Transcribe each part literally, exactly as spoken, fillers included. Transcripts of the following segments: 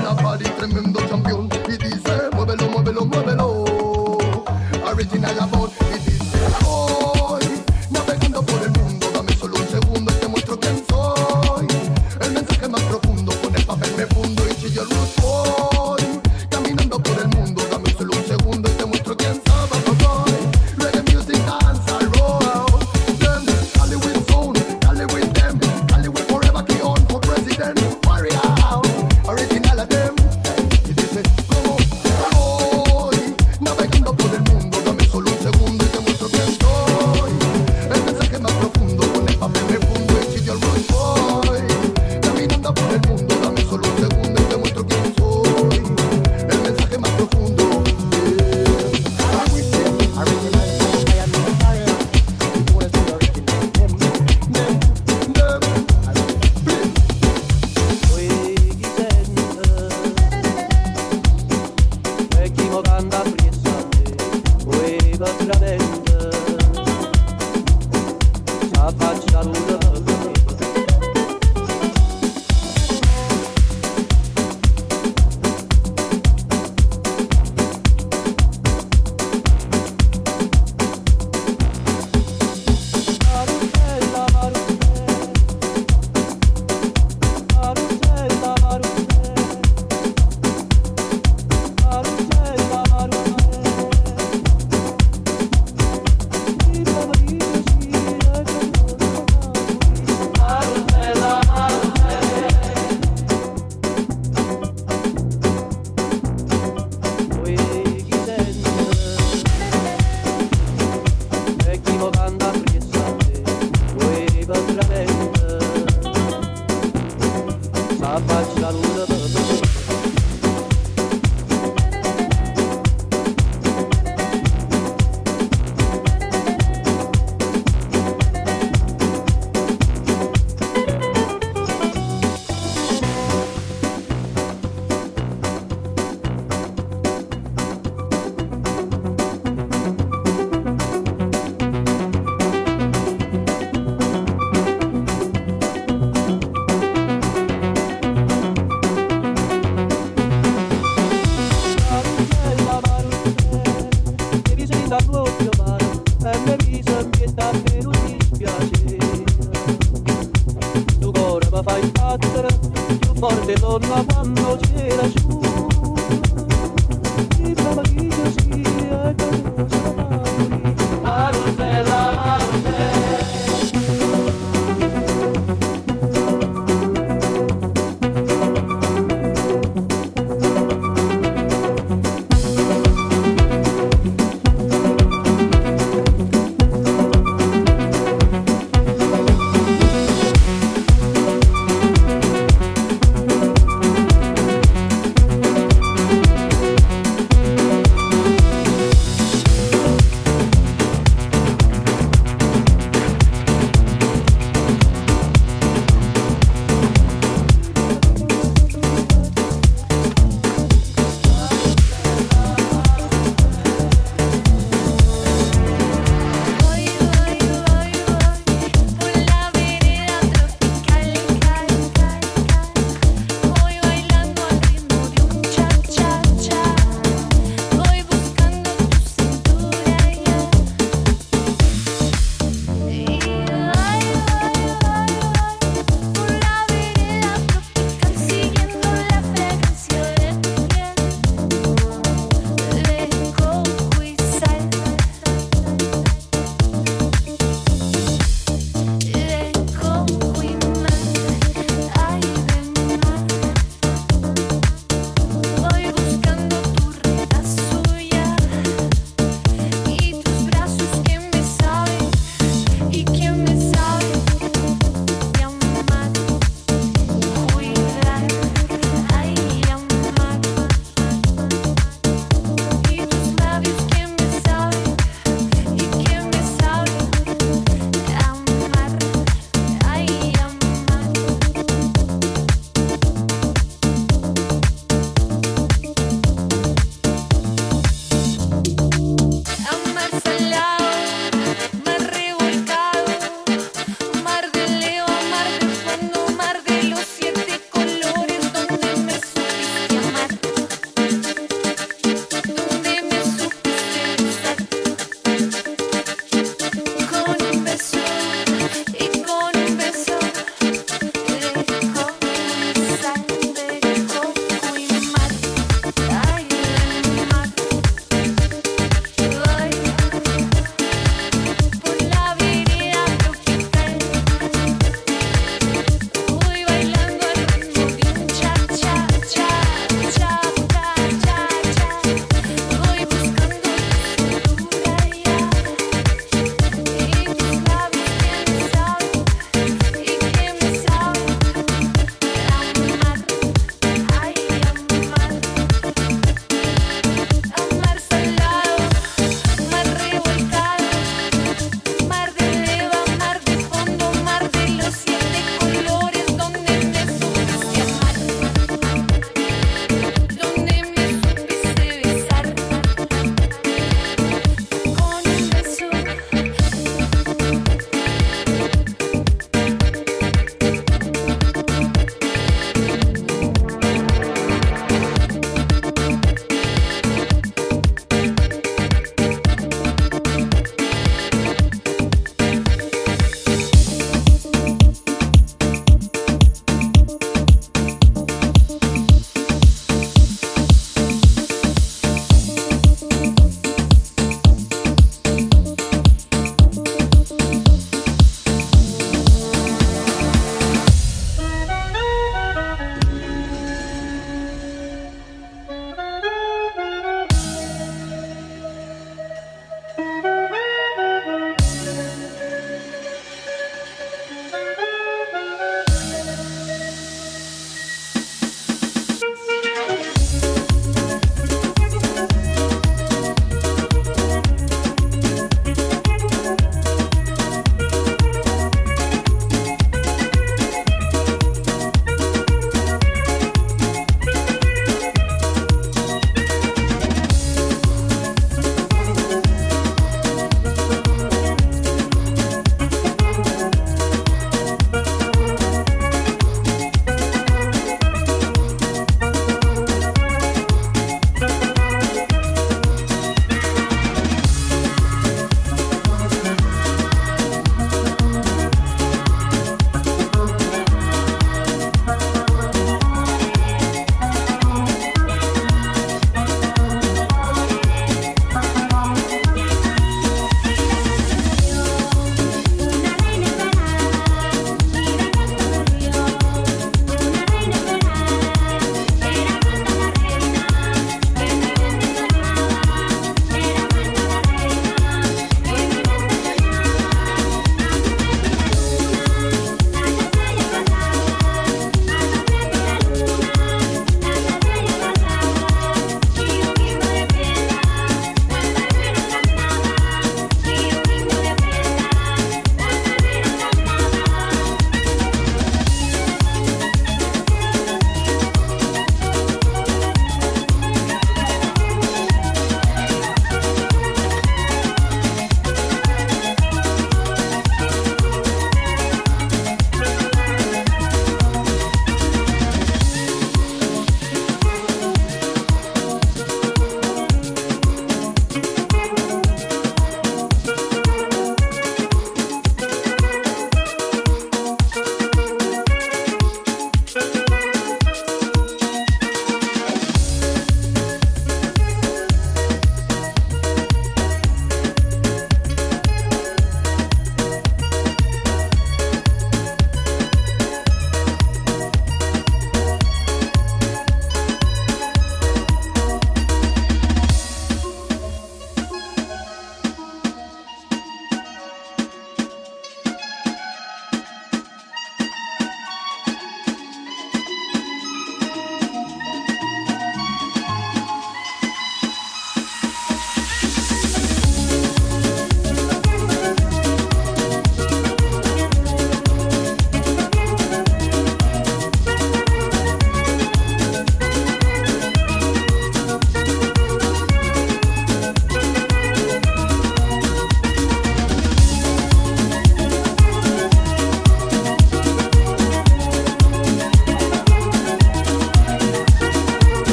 la party, tremendo campeón. Y dice, muévelo, muévelo, muévelo. Original about, y dice, voy navegando por el mundo. Dame solo un segundo y te muestro quién soy. El mensaje más profundo, con el papel me fundo y chillo el root boy. Caminando por el mundo, dame solo un segundo y te muestro quién soy. Reggae music, dance, I roll. Them, Hollywood zone, Hollywood them, Hollywood forever, key on for president. Warrior, original of them. Y dice, como voy navegando por el mundo. Dame solo un segundo y te muestro quién soy. El mensaje más profundo, con el papel me fundo y chillo el root boy. Caminando por el mundo, dame solo un segundo y te muestro quién soy. El mensaje más profundo.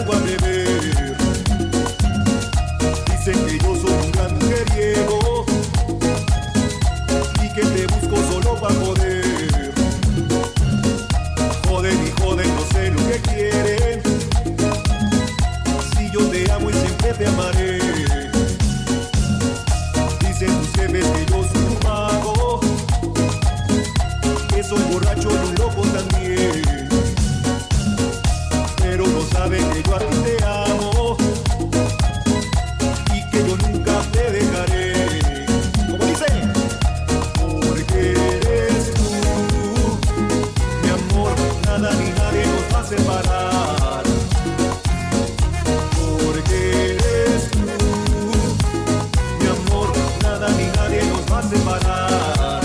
salgo a beber. Dicen que yo soy un gran mujeriego y que te busco solo para joder. Joden y joden, no sé lo que quieren. Si yo te amo y siempre te amaré. Dicen tus jefes que yo soy un mago, que soy borracho y un loco también. Pero no saben que yo a ti te amo y que yo nunca te dejaré. Como dicen, porque eres tú, mi amor, nada ni nadie nos va a separar. Porque eres tú, mi amor, nada ni nadie nos va a separar.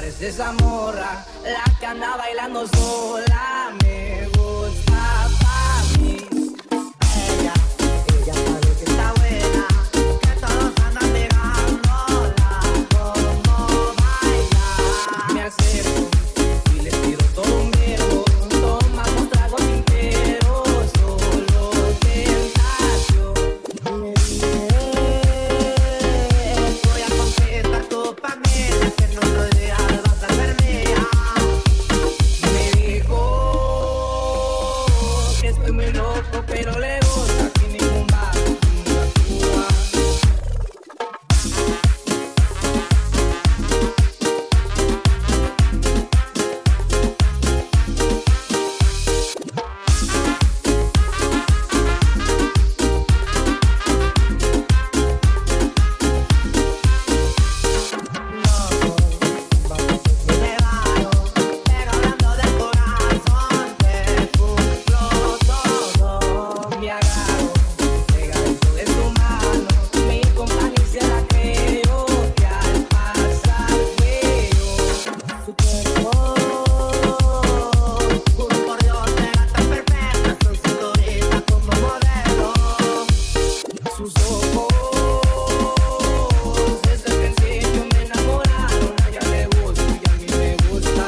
parece esa morra, la que anda bailando sola. Me gusta pa' mí. Ella, ella sabe que está buena, que todos andan pegándola. Como baila, me acerco y le tiro todo un verbo. Tomamos tragos enteros, solo tentación. Me dije, voy a confesar tu panela, que no lo dejas, vas a vermea. Me dijo que estoy muy loco, pero le gusta que ningún vaso nunca actúa. Pero hablando del corazón, te cumplo todo. Me agarro, pegadizo de su mano. Mi compañía se la creo, que al pasar veo su cuerpo. Juro por Dios, era tan perfecta, son cinturita como modelo. Sus ojos, desde el principio me enamoraron. A ella le gusto y a mí me gusta.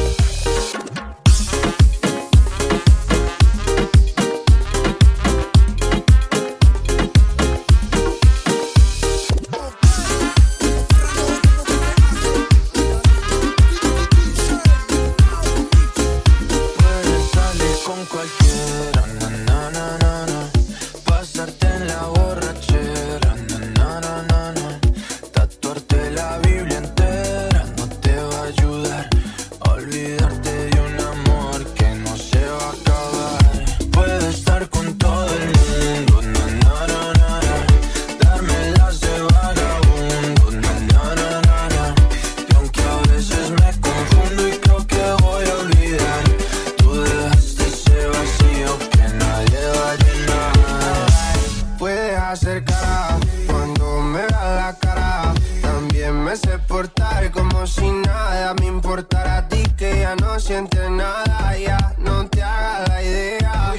Puedes salir con cualquiera, na, na, na, na, na. Pasarte en la borrachera, na, na, na, na, na. Tatuarte la Biblia entera no te va a ayudar a olvidarte de un amor que no se va a acabar. Puedes estar con todo el mundo, na, na, na, na, na. Darme las de vagabundo, na, na, na, na, na. Y aunque a veces me confundo y creo que voy a olvidar, tú dejaste ese vacío que nadie va a llenar. Puedes hacer cara cuando me veas la cara. También me sé portar como si nada me importara a ti, que ya no sientes nada. Ya no te hagas la idea.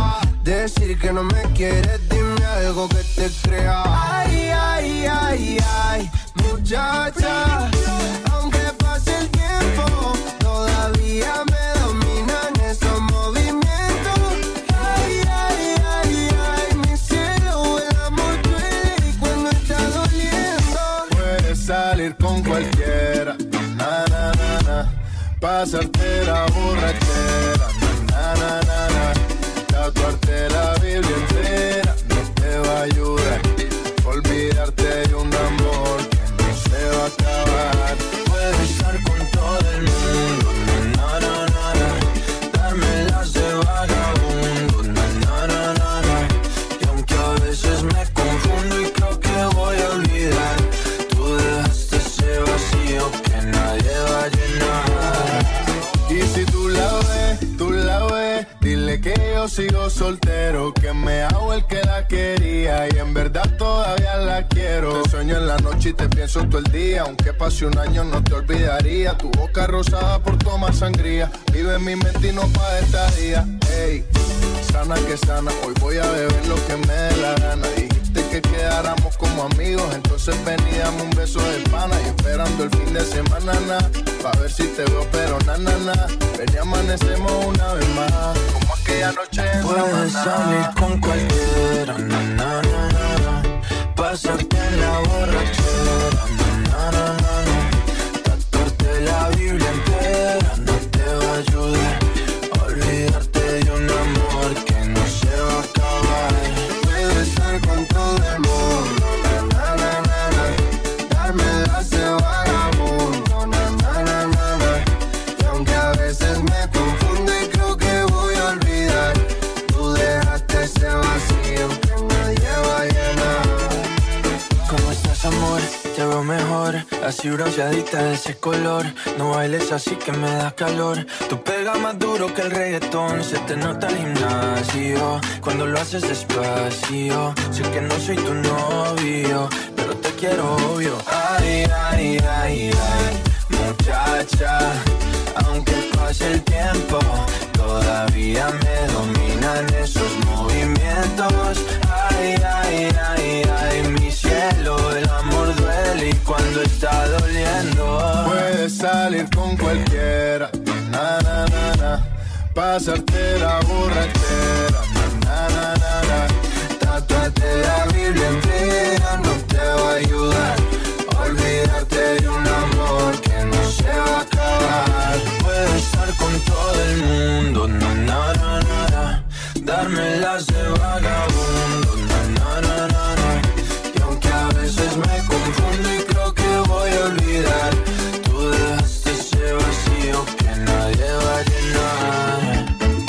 Decir que no me quieres, dime algo que te crea. Ay, ay, ay, ay, muchacha. Aunque pase el tiempo, todavía me dominan esos movimientos. Ay, ay, ay, ay, mi cielo, el amor duele y cuando está doliendo. Puedes salir con cualquiera, na, na, na, na. Pasarte la borrachera, na, na, na, na. Tatuarte la Biblia entera no te va a ayudar. Olvidarte de un amor que no se va a acabar. Puedes estar con todo el mundo, na, na, na, na, na. Darme las de vagabundo, na, na, na, na, na. Y aunque a veces me confundo y creo que voy a olvidar, tú dejaste ese vacío que nadie va a llenar. Y si tú la ves, tú la ves, dile que yo sigo soltero, que me hago el que la quería y en verdad todavía la quiero. Te sueño en la noche y te pienso todo el día, aunque pase un año no te olvidaría. Tu boca rosada por tomar sangría, vive en mi mente y no pa' esta día. Ey, sana que sana, hoy voy a beber lo que me dé la gana. Dijiste que quedáramos como amigos, entonces ven y dame un beso de pana. Y esperando el fin de semana, na, pa' ver si te veo, pero na, na, na. Ven y amanecemos una vez más, como aquella noche en Puedes Samaná. salir con cualquiera, na, na, na, na, na. Pasarte en la borrachera, na, na, na, na, na. Tatuarte la Biblia entera no te va a ayudar a olvidarte de un amor que no se va a acabar. Puedes estar con todo el mundo, na, na, na, na, na. Darme las de vagabundo, na, na, na, na, na. Y aunque a veces me confundo y creo que voy a olvidar, tú dejaste ese vacío que nadie va a llenar. ¿Cómo estás, amor? Te veo mejor, así bronceadita de ese color. No bailes así que me da calor. Tú pegas más duro que el reggaetón. Se te nota el gimnasio cuando lo haces despacio. Sé que no soy tu novio, pero te quiero obvio. Ay, ay, ay, ay, muchacha. con cualquiera, na na na na, pasarte la borrachera, na na na na. Tatuarte la Biblia entera no te va a ayudar. Olvidarte de un amor que no se va a acabar. Puedo estar con todo el mundo, na na na na na, darme las de vagabundo, na na na na na. Y aunque a veces me confundo y creo que voy a olvidar, tú dejaste ese vacío que nadie va a llenar.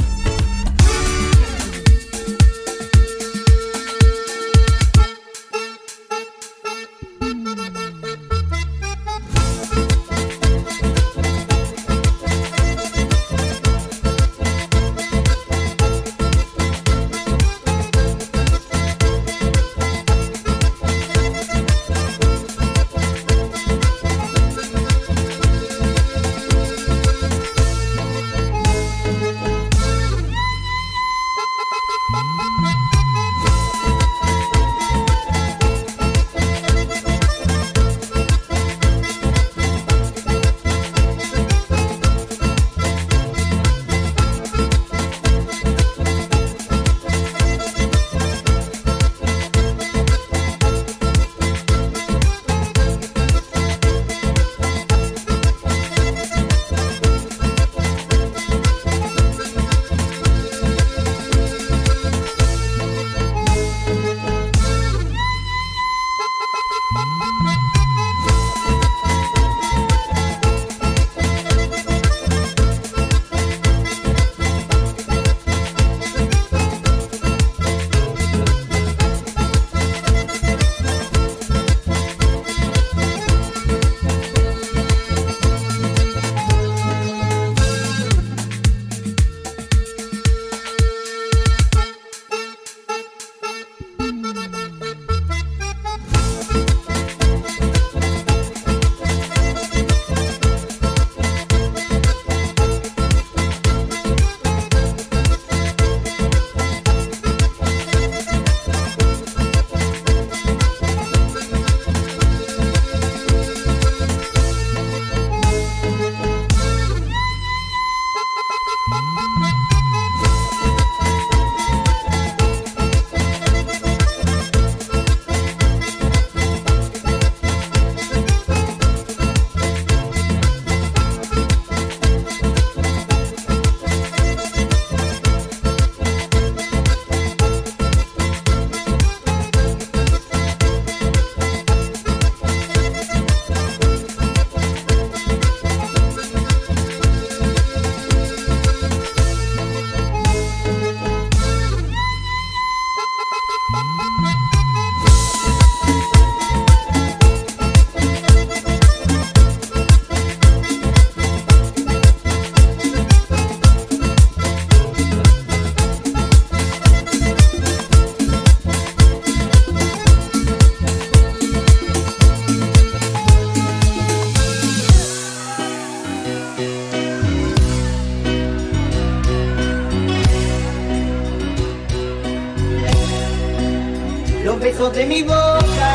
besos de mi boca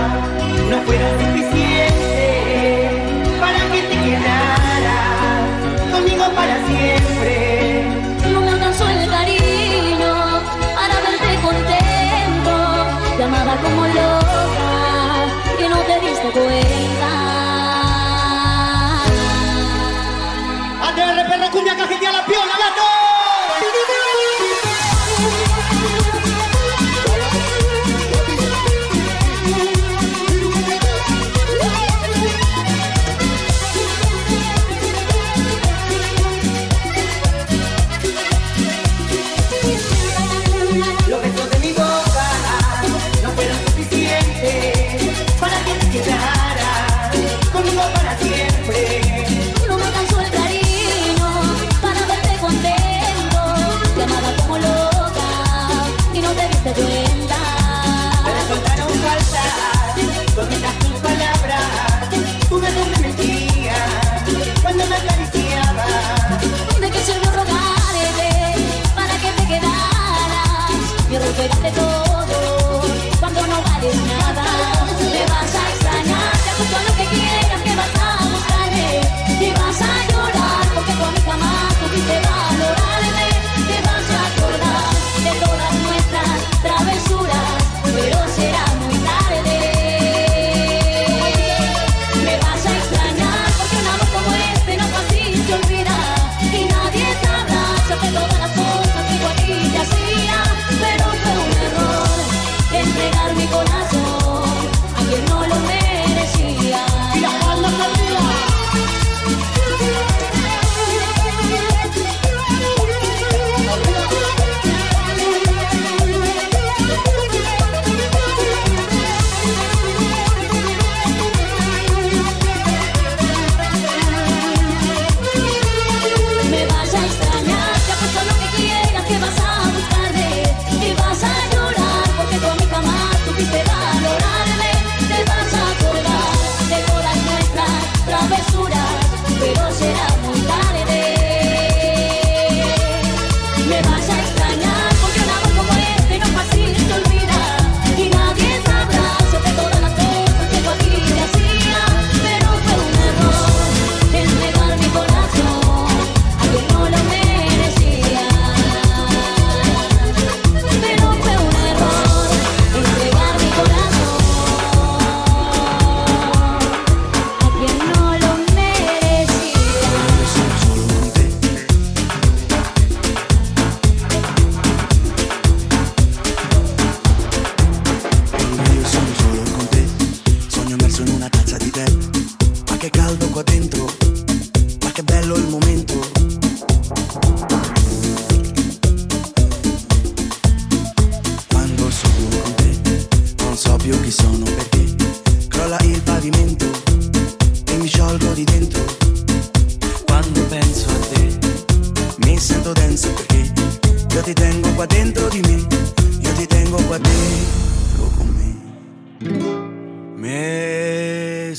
no fueron suficientes para que te quedaras conmigo para siempre. No me alcanzó el cariño para verte contento. Te amaba como loca que no te diste cuenta. A T R perra cumbia cajetea la piola, gato.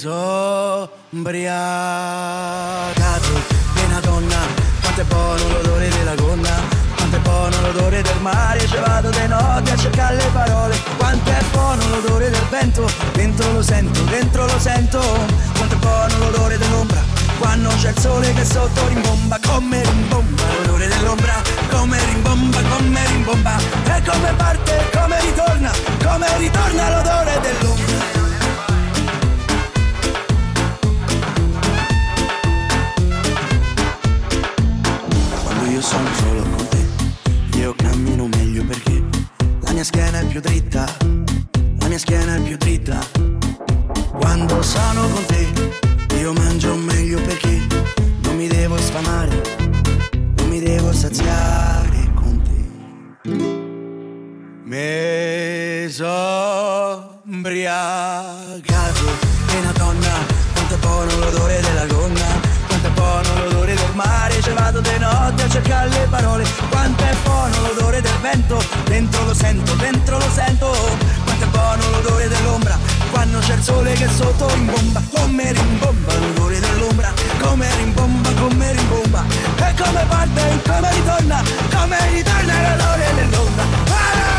sono ubriacato di una donna, quanto è buono l'odore della gonna, quanto è buono l'odore del mare, ci vado di notte a cercare le parole, quanto è buono l'odore del vento, dentro lo sento, dentro lo sento, quanto è buono l'odore dell'ombra, quando c'è il sole che sotto rimbomba, come rimbomba l'odore dell'ombra, come rimbomba, come rimbomba, e come parte, come ritorna, come ritorna l'odore dell'ombra. Io sono solo con te, io cammino meglio perché la mia schiena è più dritta, la mia schiena è più dritta. Quando sono con te, io mangio meglio perché non mi devo sfamare, non mi devo saziare con te. Me so ubriacato e una donna, quanto è buono l'odore della gonna, quanto è buono l'odore del mare, ci vado di notte a cercare le parole, quanto è buono l'odore del vento, dentro lo sento, dentro lo sento, quanto è buono l'odore dell'ombra, quando c'è il sole che sotto rimbomba, come rimbomba l'odore dell'ombra, come rimbomba, come rimbomba, e come parte, come ritorna, come ritorna l'odore dell'ombra. Ah!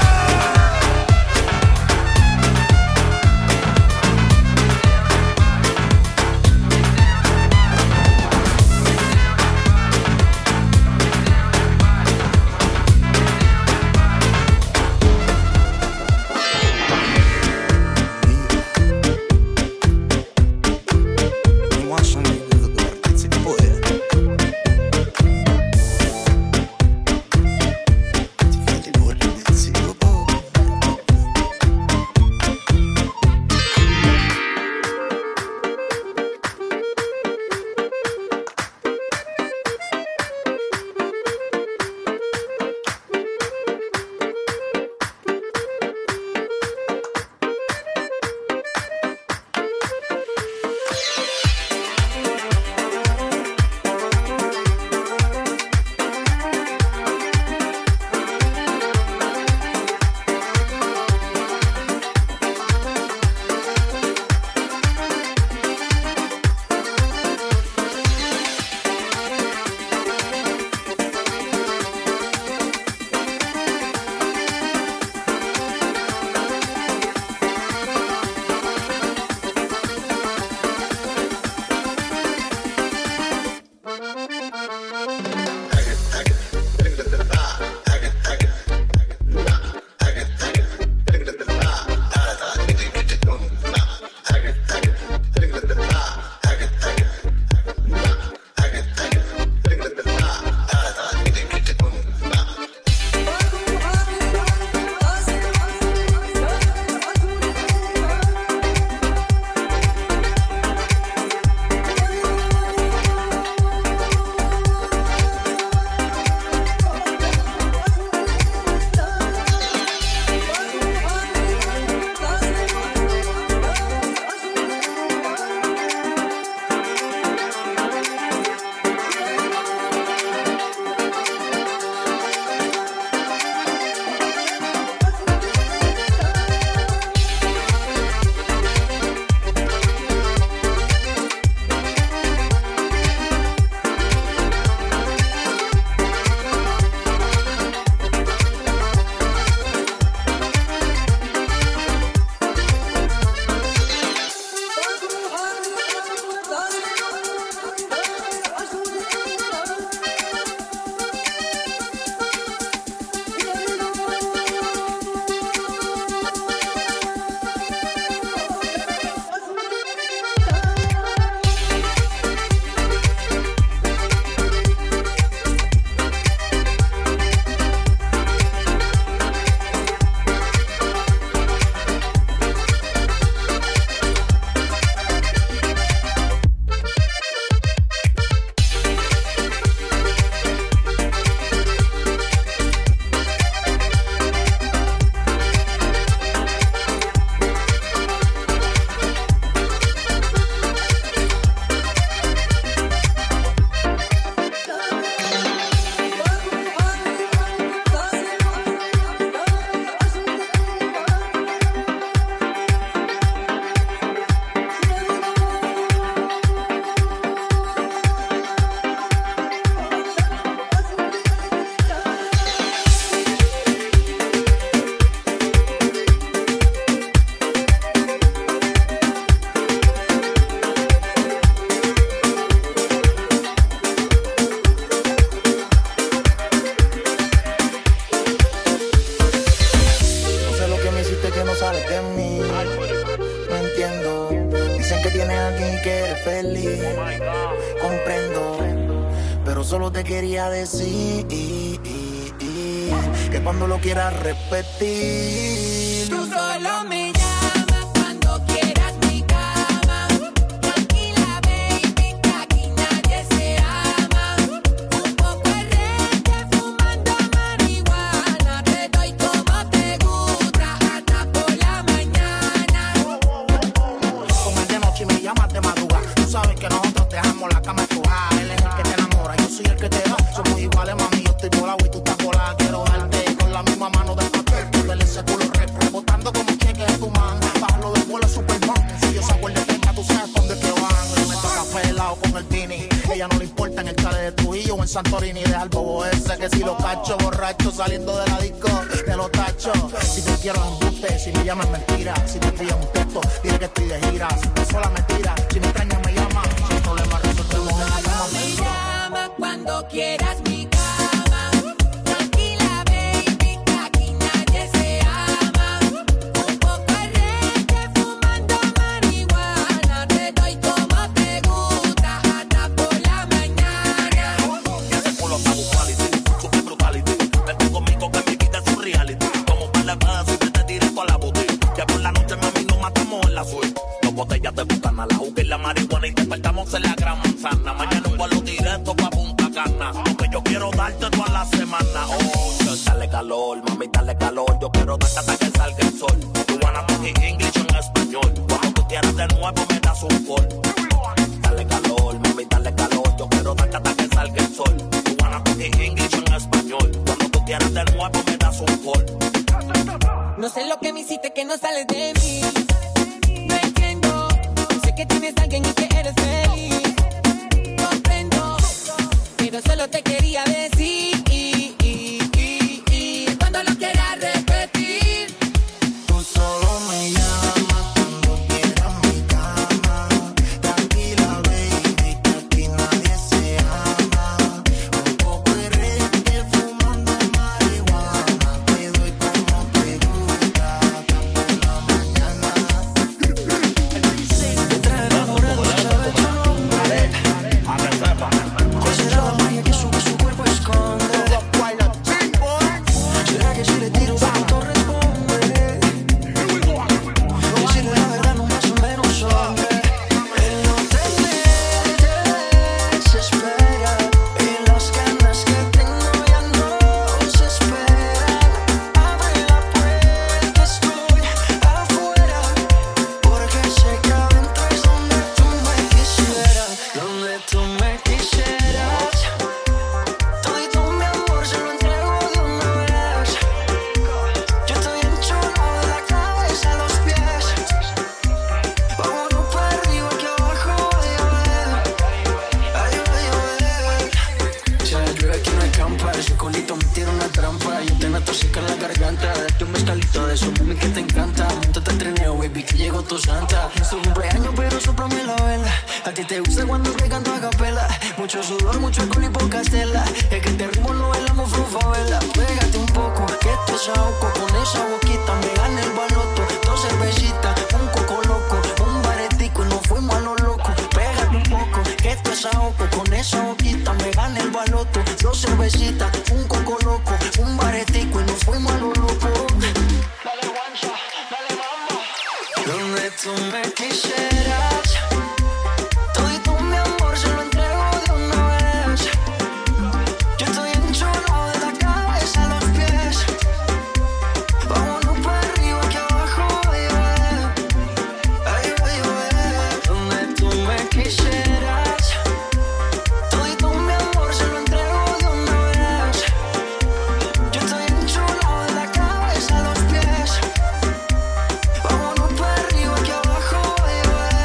aquí que eres feliz. Comprendo, pero solo te quería decir que cuando lo quieras repetir, tú solo me llamas cuando quieras mi cama. Tranquila, baby, que aquí nadie se ama. Un poco de reggae fumando marihuana. Te doy como te gusta hasta por la mañana. Comer de noche y me llamas de madrugada. Tú sabes que nosotros dejamos la cama empujada. Él es el que te enamora, yo soy el que te da. Somos iguales, mami, yo estoy volado y tú estás volada. Quiero darte con la misma mano del papel. Poderle ese culo re, rebotando como cheque en tu man. Bajarlo del vuelo Superman. Si yo saco el de tenga, tú sabes dónde que van. Yo me toca pelado con el Tini. Ella no le importa en el chale de Trujillo o en Santorini. Deja el bobo ese que si lo cacho borracho saliendo de la disco, te lo tacho. Si te quiero embuste, si me llamas mentira. Si te pillas un texto, dile que estoy de gira. Si te sola mentira, si me extrañas me llamas. Sin problema resolvemos en la cama. Me llama cuando quieras mi cama. Tranquila, baby, que aquí nadie se ama. Un poco de reggae fumando marihuana. Te doy como te gusta hasta por la mañana. Y ese culo está brutality, super brutality. Vete conmigo que mi vida es un reality. Como para la paz y te directo a la boutique. Que por la noche mami nos matamos en la suite. Dos botellas de bucana, la juca y la marihuana. Y despertamos en la gran manzana. Mañana un vuelo directo pa' Punta Cana. Lo que yo quiero darte toda la semana. Oh, dale calor, mami, dale calor. Yo quiero darte hasta que salga el sol. Tú van a talk English en español. Cuando tú quieras de nuevo me das un call. Dale calor, mami, dale calor. Yo quiero darte hasta que salga el sol. Tú van a talk English en español. Cuando tú quieras de nuevo me das un call. No sé lo que me hiciste que no sales de mí. No entiendo. Sé que tienes a alguien y que eres feliz. Comprendo, pero solo te quería decir cuando lo quieras repetir. Tú solo me llamas cuando quieras mi cama. Tranquila, baby, que aquí nadie se ama. Un poco de reggae fumando marihuana. Te doy como te gusta hasta por la mañana. Te trae enamorado, sabes tu nombre. A que sepa. ¿Cuál será la magia que sube su cuerpo esconde? ¿Será que si le tiro de pronto responde? Decirle la verdad no más o menos hombre. Él no te desespera. Y las ganas que tengo ya no se esperan. Abre la puerta, estoy afuera. Porque sé que adentro es donde tú me quisieras. Donde tú me quisieras. Todo mi amor se lo entrego de una vez. Yo estoy enchulado de la cabeza a los pies. Vámonos para arriba que abajo voy a ver. Ay, voy a ver. Si hay llueve aquí no hay campa. Ese colito me tira una trampa. Yo te noto seca en la garganta. Date un mezcalito de eso, mami, que te encanta. Montate al trineo, baby, que llegó tu santa. Es tu cumpleaños, pero sóplame la vela. A ti te gusta cuando te canto a capela. Mucho sudor, mucho alcohol y poca estela. Es que este ritmo lo bailamos frufavela. Pégate un poco, que te saoco. Con esa boquita me gana el baloto. Dos cervecitas, un coco loco. Un baretico y nos fuimos a lo loco. Pégate un poco, que te saoco. Con esa boquita me gana el baloto. Dos cervecitas, un coco loco. Un baretico y nos fuimos a lo loco. Dale guancha, dale mamá. Donde tú me quisieras. Todo mi amor se lo entrego de una vez. Yo estoy enchulado de la cabeza a los pies. Vámonos para arriba que abajo voy a ver. Ay, voy a ver. Donde tú me quisieras. Todo mi amor se lo entrego de una vez. Yo estoy enchulado de la cabeza a los pies. Vámonos para arriba que abajo voy a ver.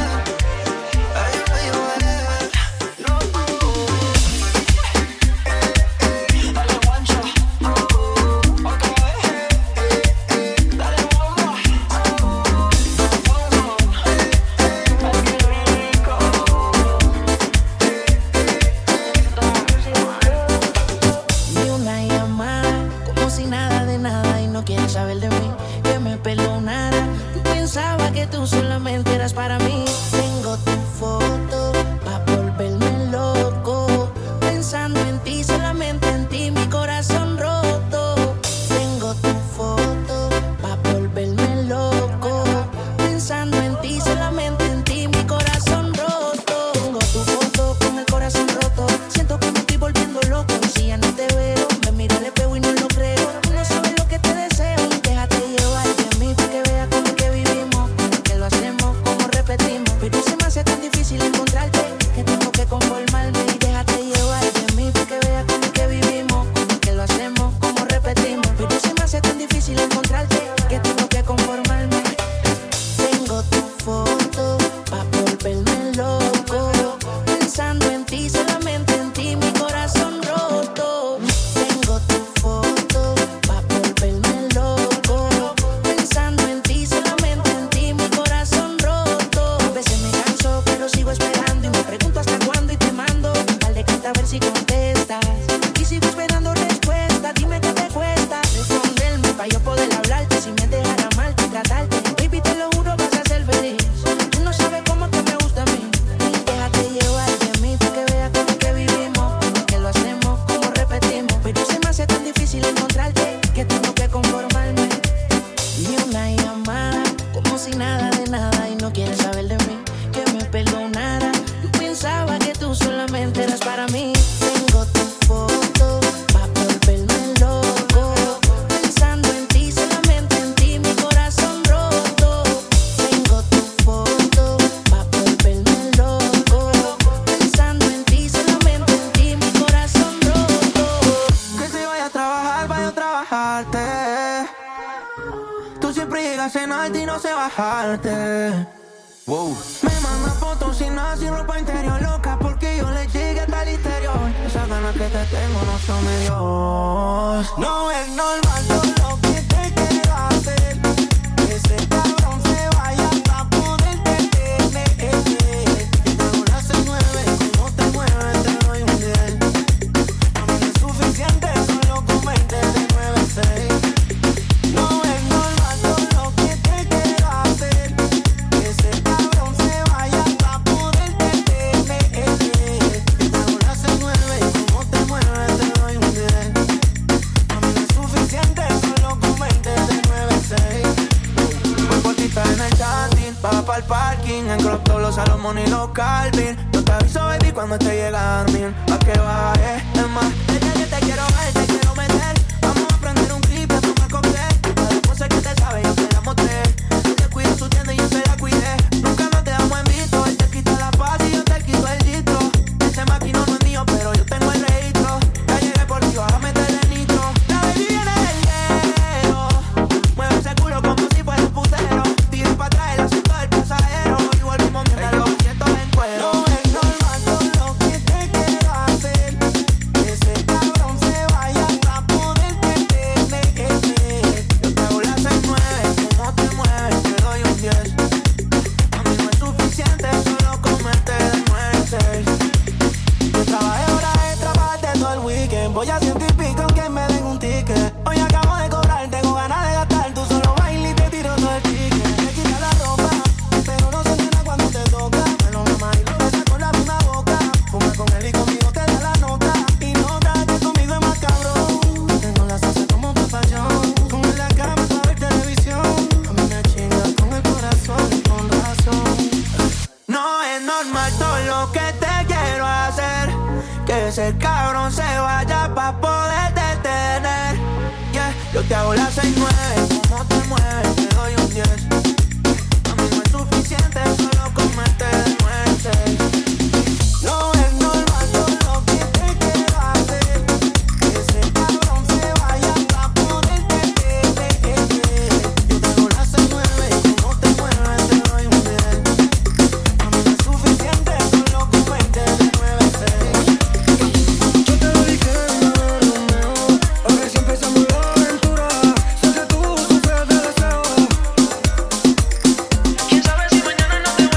Pero se me hace tan difícil encontrarte que tengo que conformarme y déjate llevar de mí para que veas cómo es que vivimos, cómo es que lo hacemos, cómo repetimos. Pero se me hace tan difícil encontrarte que tengo que conformarme. Tengo tu foto pa' volverme loco, pensando en ti, solamente en ti, mi corazón roto. Tengo tu foto pa' volverme loco, pensando en ti, solamente en ti, mi corazón roto. A veces me canso, pero sigo esperando y me pregunto hasta cuándo y te mando un par de cartas a ver si contestas. Y sigo esperando respuesta, dime qué te cuesta responderme pa' yo poder hablarte. Si me dejara mal y tratarte, baby, te lo juro, vas a ser feliz. Tú no sabes cómo que me gusta a mí. Déjate llevar de mí para que veas cómo es que vivimos, cómo es que lo hacemos, cómo repetimos. Pero se me hace tan difícil encontrarte que tengo que conformarme. Y una llamada, como si nada de nada, y no quieres saber de mí, que me perdonara. Yo pensaba que tú solamente eras para mí. Tengo tu foto pa' volverme loco, pensando en ti, solamente en ti, mi corazón roto. Tengo tu foto pa' volverme loco, pensando en ti, solamente en ti, mi corazón roto. Que si vaya a trabajar, vaya a trabajarte. Tú siempre llegas en alto y no sé bajarte. Wow. Me manda fotos sin nada, sin ropa interior, loca porque yo le llegué hasta el interior. Esas ganas que te tengo no son de Dios. No es normal todo lo que te quiero hacer, que ese cabrón se vaya pa' poderte tener. Yo te hago las seis nueve, como te mueves te doy un diez. A mí no es suficiente solo comerte de nueve a seis. No es normal todo lo que te quiero hacer, que ese cabrón se vaya pa' poderte tener. Yo te hago las seis nueve, como te mueves te doy un diez. A mí no es suficiente solo comerte de nueve a seis. Voy por ti, está en el chatting, baja pa'l parking, en crop top los Salomón y los Calvin. Yo te aviso, baby, cuando esté llegando, a que baje, es más, desde que te quiero ver, te quiero meter. Vamos a prender un clip, a tomar cóctel. Todas las cosas que te sabe, yo te la mostré. Él te cuida su tienda y yo se la cuidé. Nunca nos dejamos en visto, él te quita la paz y yo te quito el distro. Ese maquinón no es mío, pero yo tengo el registro. Ya llegué por ti, vas a meterle nitro. La baby viene del hielo, mueve ese culo como si fuera un putero. Tira pa' atrás el asiento del pasajero y volvimos mientras los asientos en cuero. No es normal todo lo que te quiero hacer, que ese cabrón se vaya pa' poderte tener. Yo te hago las seis nueve, como te mueves te doy un diez. A mí no es suficiente solo comerte de nueve a seis. Yo trabajé horas extra para darte todo el weekend. Voy a ciento y pico aunque me den un ticket. Hoy acabo de cobrar, tengo ganas de gastar. Tú solo bailas y te tiro todo el ticket. Te quita la ropa, pero no se llena cuando te toca. Me lo mama y lo besa con la misma boca. Fuma con él y conmigo te da la nota. Y nota que conmigo es más cabrón. Tengo la salsa como tu pasión. Con él en la cama para ver televisión. A mí me chinga con el corazón y con razón. No es normal todo lo que te quiero hacer, que ese cabrón se vaya pa' poder detener. Yeah, yo te hago las seis nueve, como te mueves te doy un diez. A mí no es suficiente solo comerte de nueve a seis. No es normal todo lo que te quiero hacer, que ese cabrón se vaya pa' poderte tener. Yo te hago las seis nueve, como te mueves te doy un diez. A mí no es suficiente solo comerte de nueve a seis. Yo te lo dije, Romeo, a ver si empezamos la aventura. Sé que tú sufres de deseo. Quién sabe si mañana no te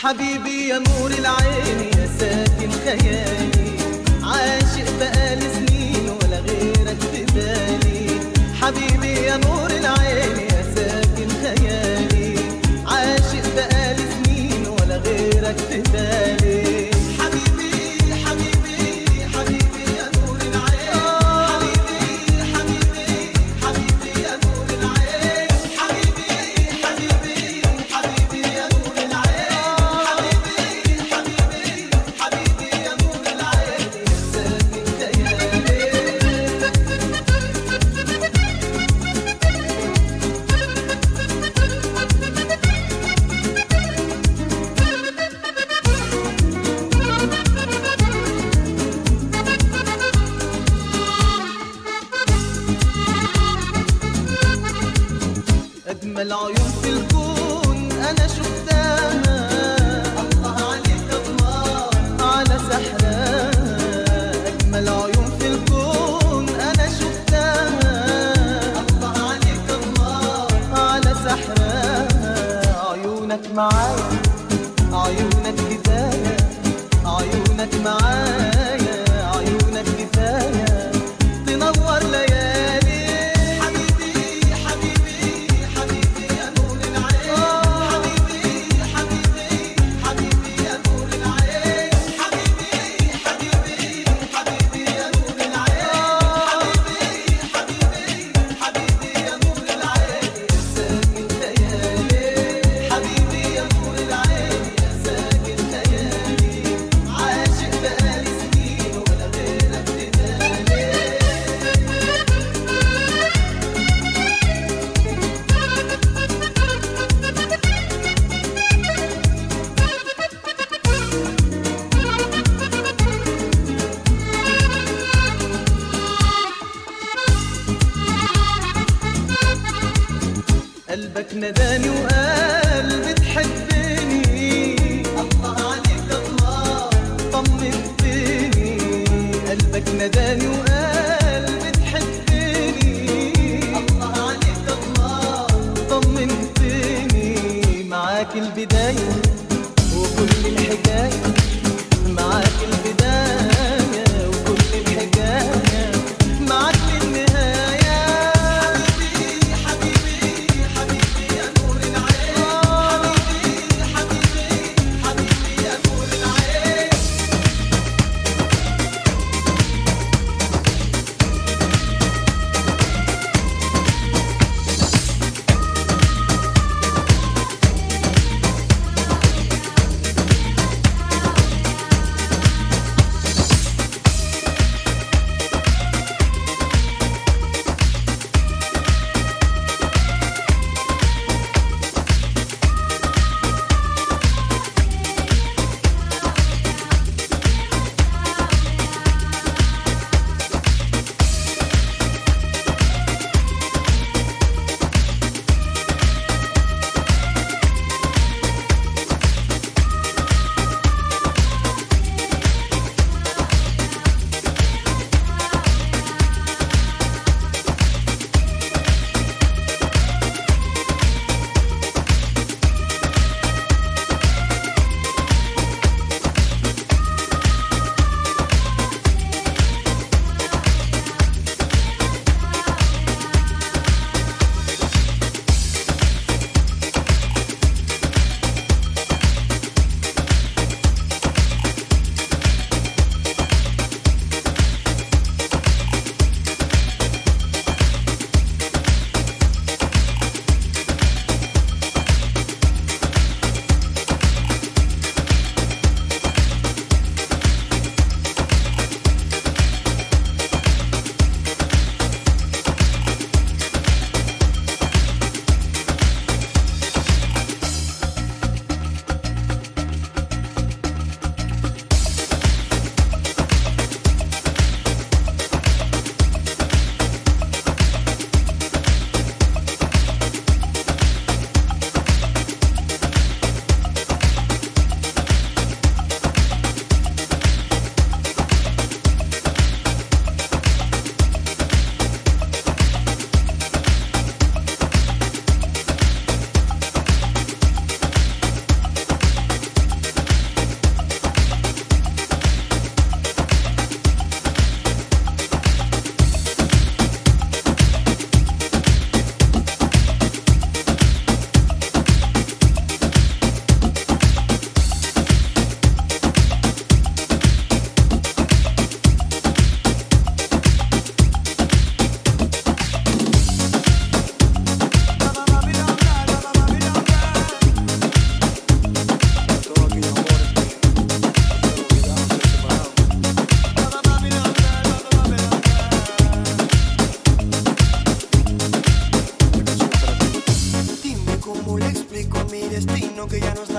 حبيبي يا نور العين يا ساكن خيالي، عاشق بقالي سنين ولا غيرك في بالي. حبيبي يا نور العين يا ساكن خيالي، عاشق بقالي سنين ولا غيرك في بالي. حبيبي حبيبي حبيبي يا نور العين، حبيبي حبيبي حبيبي يا نور العين، حبيبي حبيبي حبيبي يا نور العين، حبيبي حبيبي حبيبي يا نور العين يا ساكن خيالي. أجمل عيون في الكون أنا شفتها، الله عليك الله على سحرها. أجمل عيون في الكون أنا شفتها، الله عليك الله على سحرها. عيونك معايا عيونك كفاية، عيونك معايا عيونك كفاية تنور ليالي. حبيبي حبيبي حبيبي يا نور العين، حبيبي حبيبي حبيبي يا نور العين، حبيبي حبيبي حبيبي يا نور العين، حبيبي حبيبي حبيبي يا نور العين يا ساكن خيالي. حبيبي يا نور العين يا ساكن خيالي، عاشق بقالي سنين ولا غيرك في بالي. قلبك نداني وقال بتحبني، الله عليك الله طمنتني. قلبك نداني وقال بتحبني، الله عليك الله طمنتني. معاك البداية وكل الحكاية، معاك البداية وكل الحكاية، معاك للنهاية. حبيبي حبيبي حبيبي يا نور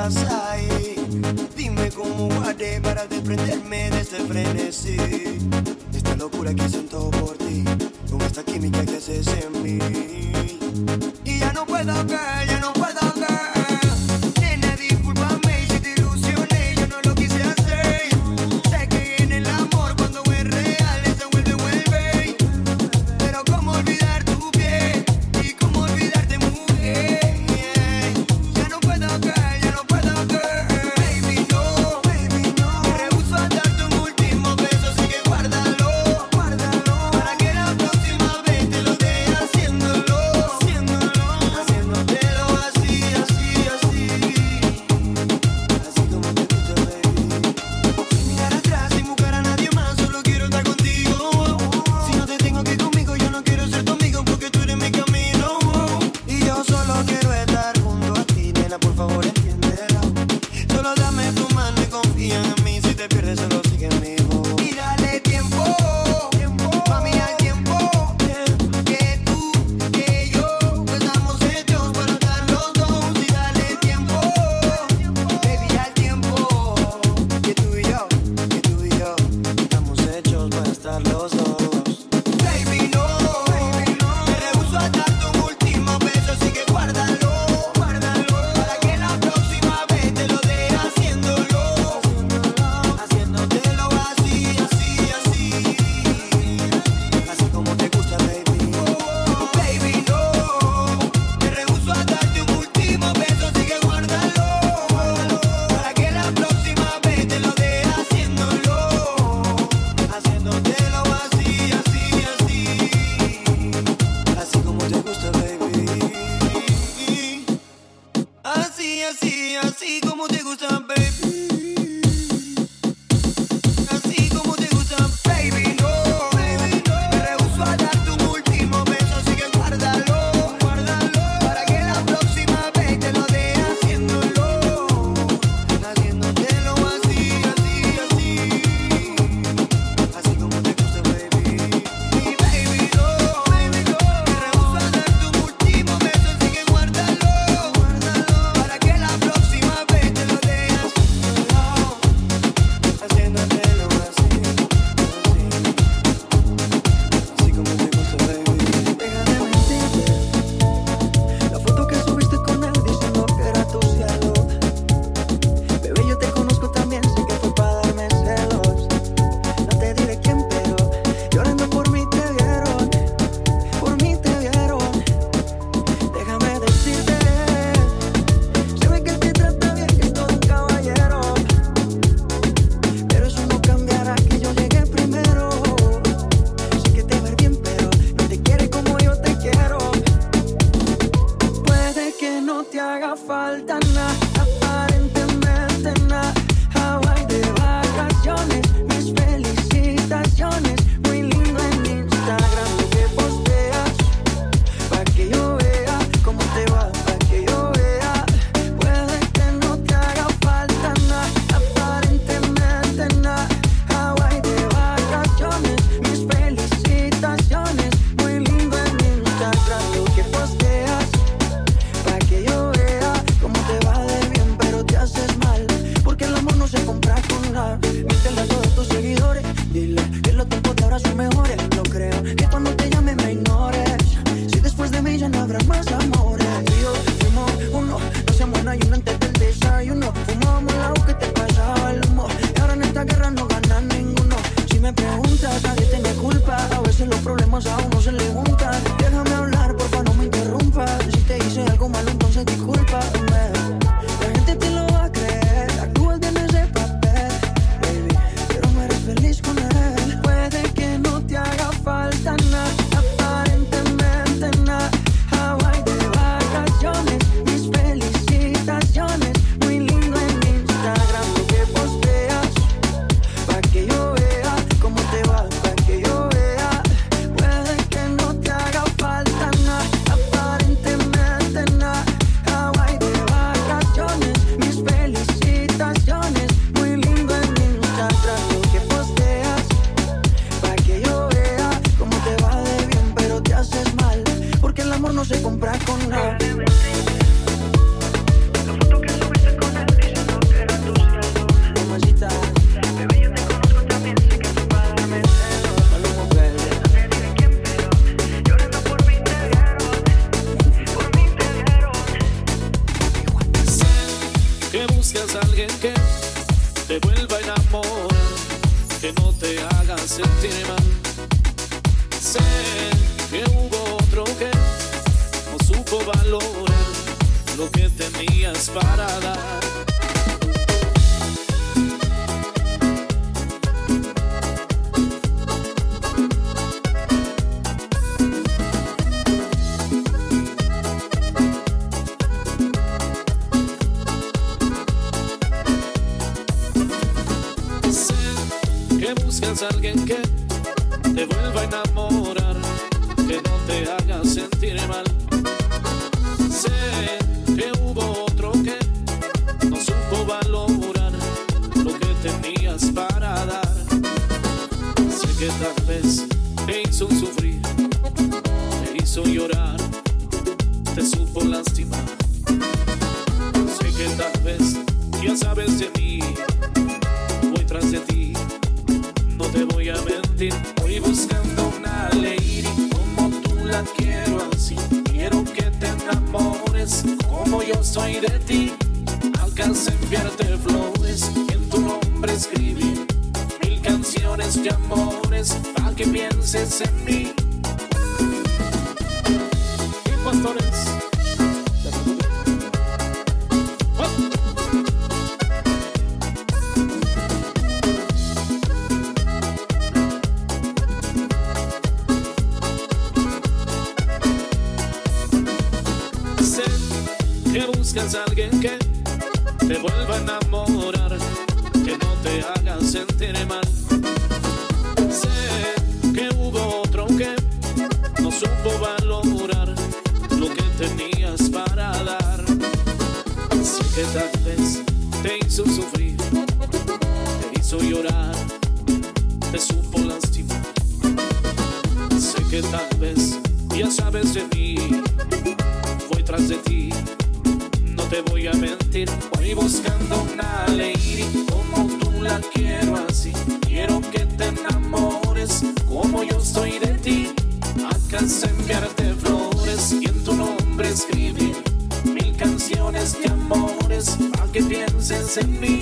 estás ahí. Dime cómo guardé para desprenderme de este frenesí. Esta locura que siento por ti, con esta química que haces en mí. Y ya no puedo ver, ya no puedo ver. Nena, discúlpame si te ilusioné, yo no lo quise hacer. Sé que en el amor cuando es real se vuelve, vuelve. Pero cómo olvidar tu piel y cómo olvidarte, mujer. Ya no puedo ver, ya no puedo ver. Baby, no, baby, no. Me rehúso a darte un último beso, así que guárdalo, guárdalo. Para que la próxima vez te lo dé haciéndolo, haciéndolo, haciéndotelo así, así, así. Así como te gusta, baby. Sin mirar atrás, sin buscar a nadie más, solo quiero estar contigo. Si no te tengo aquí conmigo, yo no quiero ser tu amigo porque tú eres mi camino. Y yo solo quiero estar junto a ti, nena, por favor entiéndelo. Solo dame tu mano y confía en mí, si te pierdes solo sigue en mi voz. Y dale tiempo, mami, al tiempo. Que tú, que yo, pues estamos hechos para estar los dos. Y dale tiempo, baby, al tiempo. Que tú y yo, que tú y yo, estamos hechos para estar los dos. Baby, no, me rehúso a darte un último beso, así que guárdalo, guárdalo. Para que la próxima vez te lo dé haciéndolo, haciéndotelo así, así, así. Así como te gusta, baby. Baby, no, me rehúso a darte un último beso, así que guárdalo, guárdalo. Para que la próxima vez te lo dé haciéndolo, haciéndotelo así, así, así. Así como te gusta, baby. Así, así, así como te gusta, baby. Así como te gusta, baby, no. Me rehúso a darte un último beso, así que guárdalo, guárdalo. Para que la próxima vez te lo dé haciéndolo, haciéndotelo así, así, así. Así como te gusta, baby. Y baby, no, baby, no. Me rehúso a darte un último beso, así que guárdalo, guárdalo. Para que la próxima vez te lo dé haciéndolo, haciéndotelo así, así. Así como te gusta, baby. Deja de mentirte. La foto que subiste con él diciendo que era tu cielo. Bebé, yo te conozco también, sé que fue para darme celos. No te diré quién, pero llorando por mí te vieron, por mí te vieron. Déjame decirte, se ve que te trata bien, que es todo un caballero. Pero eso no cambiará que yo llegué primero. Sé que te ver bien, pero no te quiere como yo te quiero. Puede que no te haga falta nada, aparentemente nada. Hawaii de vacaciones, mis felicitaciones. Muy lindo en Instagram lo que posteas, pa' que yo vea cómo te va, pa' que yo vea. Puede que no te haga falta nada, aparentemente nada. Hawaii de vacaciones, mis felicitaciones. Muy lindo en Instagram lo que posteas, pa' que yo vea cómo te va de bien, pero te haces mal, porque el amor no se compra con nada. Míntele a todos tus seguidores, dile que los tiempos de ahora son mejores. No creo que cuando te llame me ignores, si después de mí ya no habrá más amores. Y yo fumo uno, no seamos una y uno antes del desayuno. Fumábamos la que te pasaba el humo, y ahora en esta guerra no gana ninguno. Si me preguntas, nadie tiene culpa, a veces los problemas a uno se le juntan. Déjame hablar, porfa, no me interrumpas. Si te hice algo malo, entonces discúlpame. La gente te lo va a creer, actúas bien ese papel, baby, pero no eres feliz con él. Puede que no te alguien que te vuelva a enamorar, que no te haga sentir mal. Sé que hubo otro que no supo valorar lo que tenías para dar. Buscas a alguien que te vuelva a enamorar, que no te haga sentir mal. Sé que hubo otro que no supo valorar lo que tenías para dar. Sé que tal vez te hizo sufrir, te hizo llorar, te supo lastimar. Sé que tal vez ya sabes de mí, voy tras de ti. No te voy a mentir, voy buscando una lady como tú la quiero así. Quiero que te enamores como yo soy de ti. Alcancé a enviarte flores y en tu nombre escribir mil canciones de amores para que pienses en mí. Y pastores. Buscas a alguien que te vuelva a enamorar, que no te haga sentir mal. Sé que hubo otro que no supo valorar lo que tenías para dar. Sé que tal vez te hizo sufrir, te hizo llorar, te supo lastimar. Sé que tal vez ya sabes de mí, voy tras de ti. No te voy a mentir, voy buscando una lady como tú la quiero así. Quiero que te enamores como yo soy de ti. Alcancé a enviarte flores y en tu nombre escribir mil canciones de amores para que pienses en mí.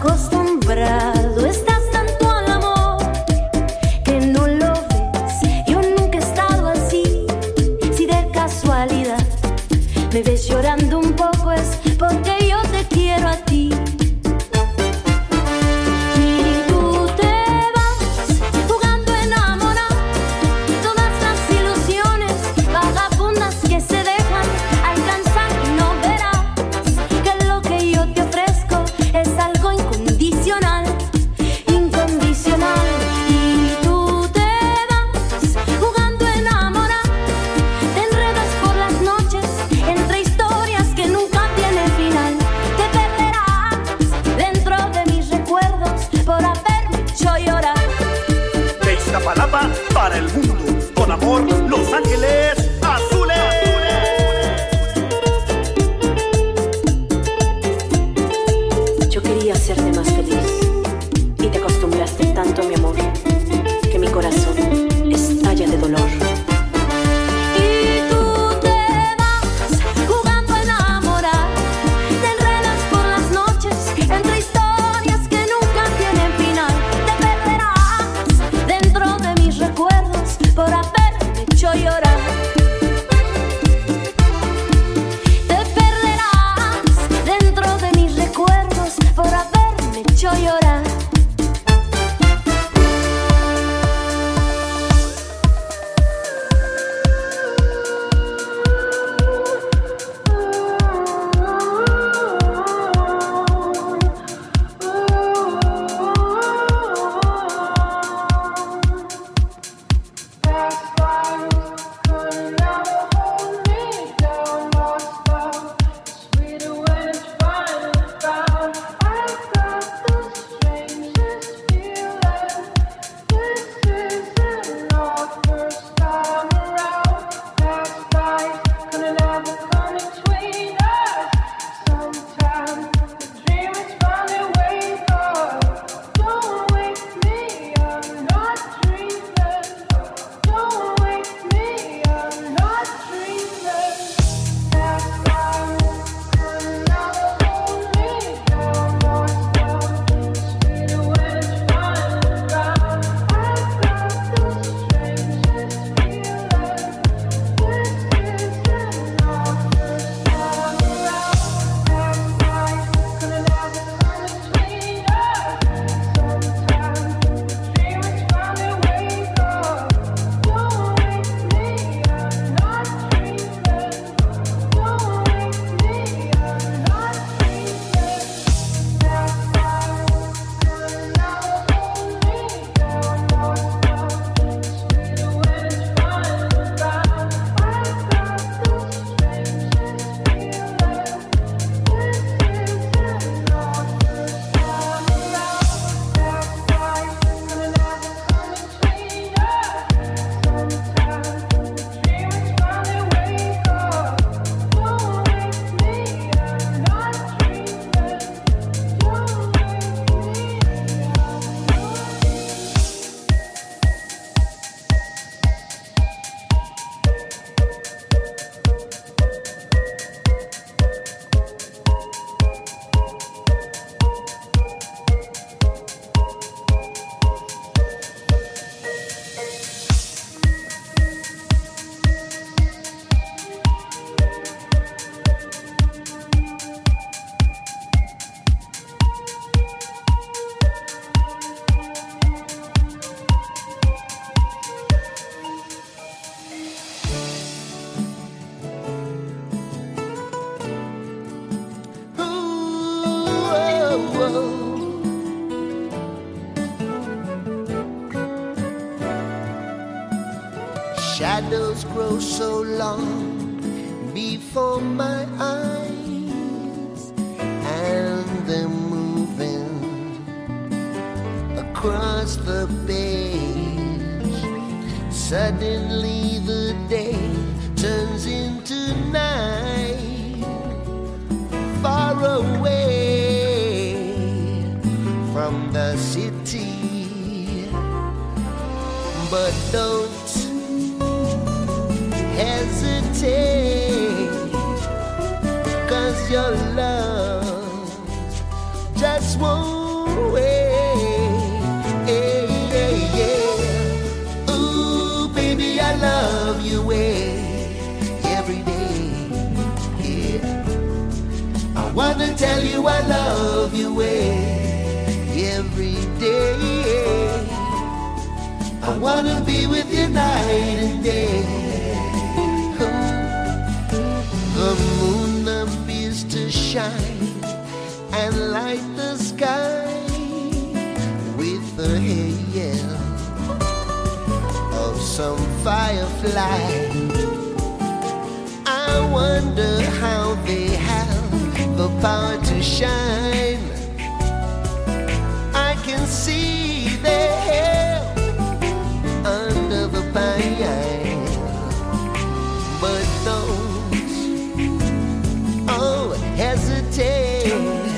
acostumbrado estás tanto al amor que no lo ves. Yo nunca he estado así. Si de casualidad me ves llorando un poco es porque yo te quiero a ti. Y tú te vas jugando a enamorar todas las ilusiones vagabundas que se dejan alcanzar y no verás que lo que yo te ofrezco es algo incondicional, incondicional. Y tú te vas jugando a enamorar, te enredas por las noches entre historias que nunca tienen final. Te perderás dentro de mis recuerdos por haberme hecho llorar. De Iztapalapa para el mundo, con amor, Los Ángeles Azules. Yo quería hacerte más feliz y te acostumbraste tanto a mi amor que mi corazón estalla de dolor. Y tú te vas jugando a enamorar, te enredas por las noches entre historias que nunca tienen final. Te perderás dentro de mis recuerdos por haberme hecho llorar. Te perderás dentro de mis recuerdos por haberme hecho llorar. Shadows grow so long before my eyes, and they're moving across the page. Suddenly the day turns into night, far away from the city. But don't hesitate, 'cause your love just won't way. Hey, hey, yeah. Ooh, baby, I love you way every day. Yeah, I wanna tell you I love you way every day. I wanna be with you night and day. The moon appears to shine and light the sky with the hail of some firefly. I wonder how they have the power to shine. I can see their hair under the pine, but don't, oh, hesitate,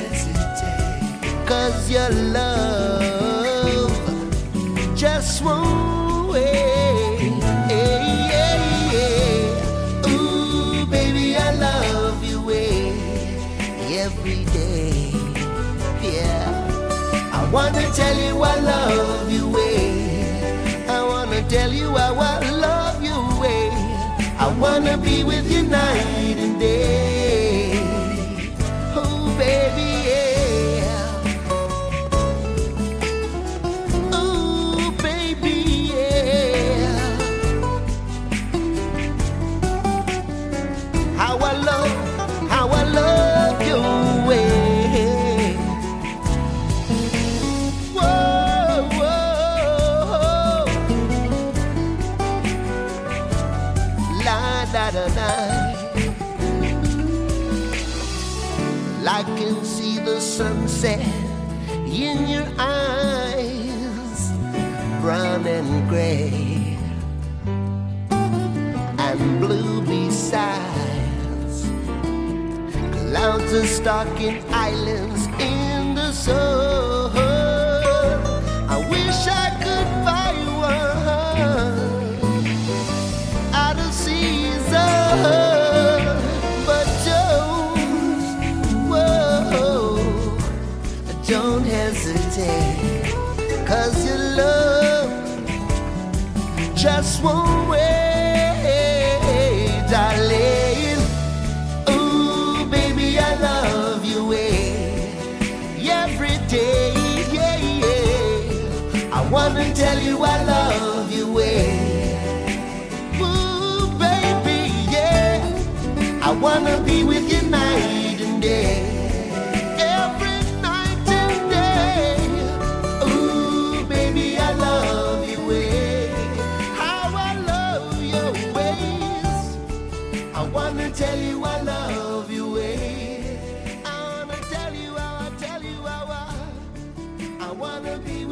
cause your love just won't wait. Hey, yeah, yeah. Ooh, baby, I love you way every day. Yeah, I wanna tell you I love you way. I wanna tell you how I love you way. I wanna be with you night and day. Oh, baby, yeah. Oh, baby, yeah. How I love, how I love you way. Da, da, da. I can see the sunset in your eyes, brown and gray and blue besides. Clouds are stalking islands in the sun. I wish I could buy one out of season, but don't, whoa, don't hesitate, cause your love just won't wait, darling. Ooh, baby, I love you way every day, yeah, yeah. I wanna tell you I love you way. I wanna be with you night and day, every night and day. Ooh, baby, I love you way. How I love your ways. I wanna tell you I love you way. I wanna tell you how I tell you how I, I wanna be